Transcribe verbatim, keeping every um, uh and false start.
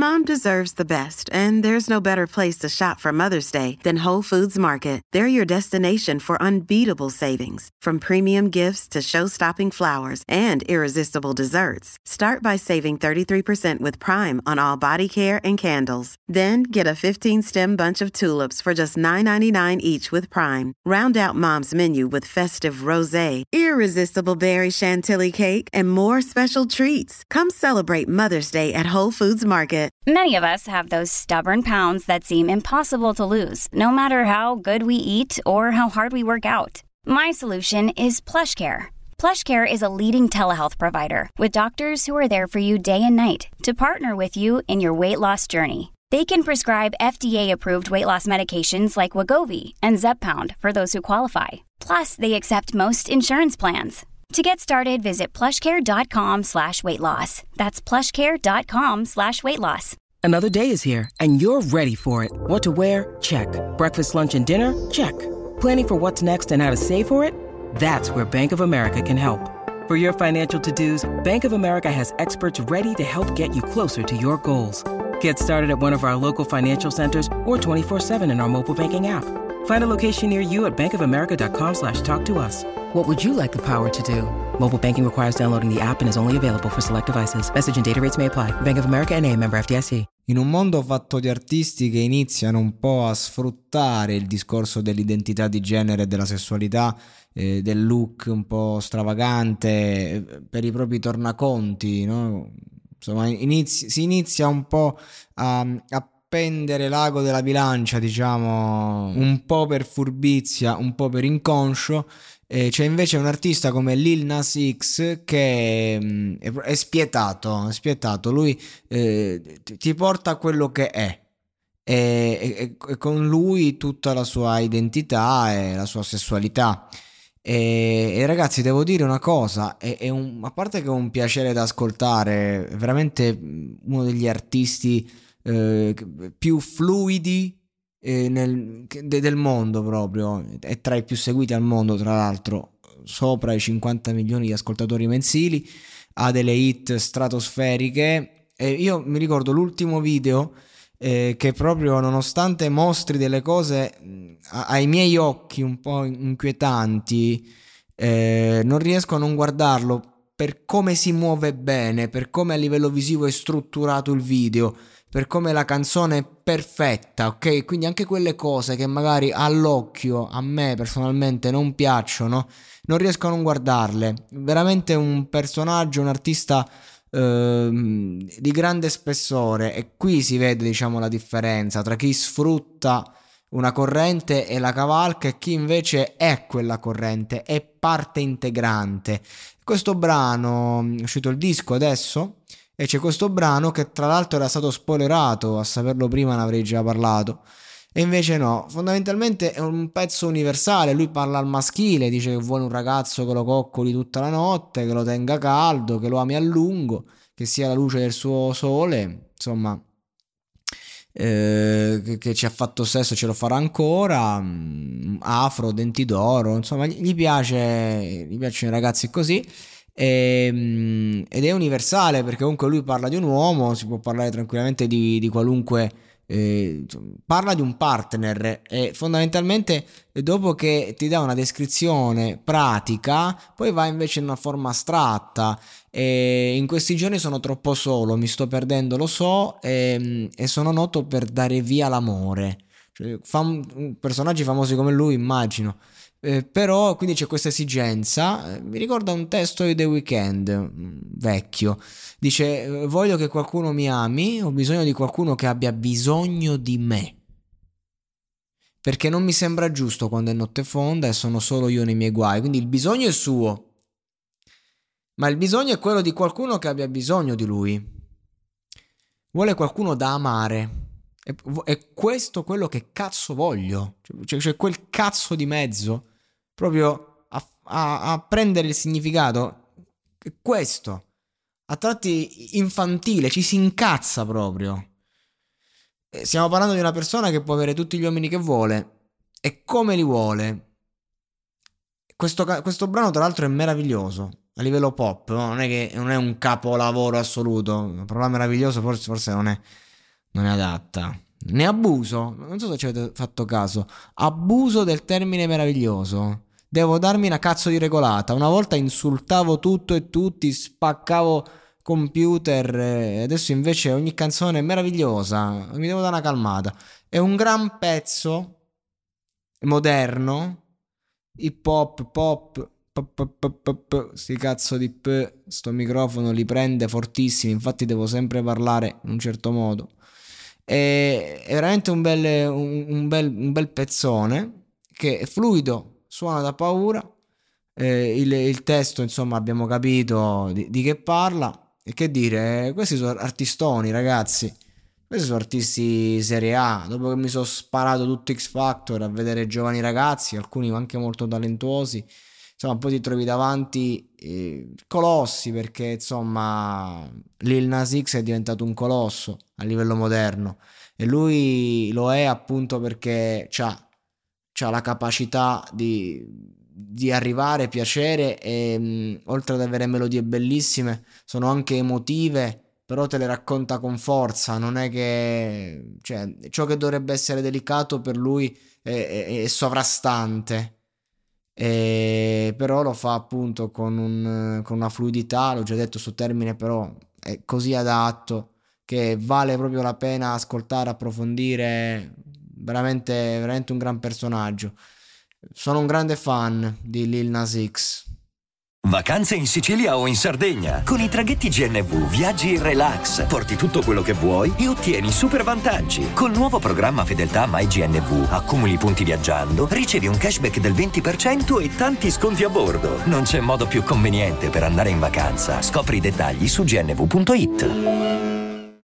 Mom deserves the best, and there's no better place to shop for Mother's Day than Whole Foods Market. They're your destination for unbeatable savings, from premium gifts to show-stopping flowers and irresistible desserts. Start by saving thirty-three percent with Prime on all body care and candles. Then get a fifteen-stem bunch of tulips for just nine ninety-nine each with Prime. Round out Mom's menu with festive rosé, irresistible berry chantilly cake, and more special treats. Come celebrate Mother's Day at Whole Foods Market. Many of us have those stubborn pounds that seem impossible to lose, no matter how good we eat or how hard we work out. My solution is PlushCare. PlushCare is a leading telehealth provider with doctors who are there for you day and night to partner with you in your weight loss journey. They can prescribe F D A-approved weight loss medications like Wegovy and Zepbound for those who qualify. Plus, they accept most insurance plans. To get started, visit plushcare.com slash weight loss. That's plushcare.com slash weight loss. Another day is here, and you're ready for it. What to wear? Check. Breakfast, lunch, and dinner? Check. Planning for what's next and how to save for it? That's where Bank of America can help. For your financial to-dos, Bank of America has experts ready to help get you closer to your goals. Get started at one of our local financial centers or twenty-four seven in our mobile banking app. Find a location near you at bankofamerica.com slash talk to us. What would you like the power to do? Mobile banking requires downloading the app and is only available for select devices. Message and data rates may apply. Bank of America N A, member F D I C. In un mondo fatto di artisti che iniziano un po' a sfruttare il discorso dell'identità di genere e della sessualità, eh, del look un po' stravagante, eh, per i propri tornaconti, no? Insomma, inizi- si inizia un po' a, a pendere l'ago della bilancia, diciamo, un po' per furbizia, un po' per inconscio. Eh, c'è invece un artista come Lil Nas X che mh, è, è spietato, è spietato. Lui eh, ti, ti porta a quello che è. E, e, e con lui tutta la sua identità e la sua sessualità. E, e ragazzi, devo dire una cosa, è, è un, a parte che è un piacere da ascoltare, è veramente uno degli artisti eh, più fluidi eh, nel, de, del mondo, proprio è tra i più seguiti al mondo, tra l'altro sopra i cinquanta milioni di ascoltatori mensili, ha delle hit stratosferiche. E io mi ricordo l'ultimo video eh, che proprio, nonostante mostri delle cose a, ai miei occhi un po' inquietanti, eh, non riesco a non guardarlo per come si muove bene, per come a livello visivo è strutturato il video, per come la canzone è perfetta, ok? Quindi anche quelle cose che magari all'occhio a me personalmente non piacciono, non riesco a non guardarle. Veramente un personaggio, un artista ehm, di grande spessore, e qui si vede, diciamo, la differenza tra chi sfrutta una corrente e la cavalca e chi invece è quella corrente, è parte integrante. Questo brano, è uscito il disco adesso, e c'è questo brano che tra l'altro era stato spoilerato, a saperlo prima ne avrei già parlato, e invece no. Fondamentalmente è un pezzo universale. Lui parla al maschile, dice che vuole un ragazzo che lo coccoli tutta la notte, che lo tenga caldo, che lo ami a lungo, che sia la luce del suo sole, insomma, eh, che, che ci ha fatto sesso, ce lo farà ancora, afro, denti d'oro, insomma gli piace, gli piacciono i ragazzi così. E, ed è universale, perché comunque lui parla di un uomo, si può parlare tranquillamente di, di qualunque eh, parla di un partner, e fondamentalmente dopo che ti dà una descrizione pratica poi va invece in una forma astratta. E in questi giorni sono troppo solo, mi sto perdendo, lo so, e, e sono noto per dare via l'amore, cioè, fam- personaggi famosi come lui, immagino. Eh, però quindi c'è questa esigenza. Eh, mi ricorda un testo di The Weeknd, mh, vecchio, dice: eh, voglio che qualcuno mi ami, ho bisogno di qualcuno che abbia bisogno di me, perché non mi sembra giusto quando è notte fonda e sono solo io nei miei guai. Quindi il bisogno è suo, ma il bisogno è quello di qualcuno che abbia bisogno di lui. Vuole qualcuno da amare. È, è questo quello che cazzo voglio. Cioè, c'è quel cazzo di mezzo proprio a, a, a prendere il significato. Questo a tratti infantile, ci si incazza proprio. Stiamo parlando di una persona che può avere tutti gli uomini che vuole e come li vuole. Questo, questo brano tra l'altro è meraviglioso a livello pop, no? Non è che non è un capolavoro assoluto. La parola meraviglioso forse, forse non è non è adatta. Ne abuso, non so se ci avete fatto caso, abuso del termine meraviglioso. Devo darmi una cazzo di regolata. Una volta insultavo tutto e tutti, spaccavo computer, e adesso invece ogni canzone è meravigliosa, mi devo dare una calmata. È un gran pezzo moderno, hip hop, pop, pop, pop, pop, pop, sti cazzo di p, sto microfono li prende fortissimi, infatti devo sempre parlare in un certo modo. È, è veramente un bel, un, un, bel, un bel pezzone che è fluido, suona da paura. Eh, il, il testo, insomma, abbiamo capito di, di che parla. E che dire, questi sono artistoni, ragazzi. Questi sono artisti serie A. Dopo che mi sono sparato tutto X Factor a vedere giovani ragazzi, alcuni anche molto talentuosi, insomma, poi ti trovi davanti eh, colossi, perché insomma Lil Nas X è diventato un colosso a livello moderno, e lui lo è appunto perché c'ha, c'ha la capacità di di arrivare, piacere, e mh, oltre ad avere melodie bellissime sono anche emotive, però te le racconta con forza. Non è che, cioè, ciò che dovrebbe essere delicato per lui è, è, è sovrastante, e però lo fa appunto con, un, con una fluidità, l'ho già detto, sto termine però è così adatto che vale proprio la pena ascoltare, approfondire. Veramente, veramente un gran personaggio. Sono un grande fan di Lil Nas X. Vacanze in Sicilia o in Sardegna. Con i traghetti G N V viaggi in relax, porti tutto quello che vuoi e ottieni super vantaggi. Col nuovo programma Fedeltà MyGNV accumuli punti viaggiando, ricevi un cashback del venti per cento e tanti sconti a bordo. Non c'è modo più conveniente per andare in vacanza. Scopri i dettagli su gnv punto it.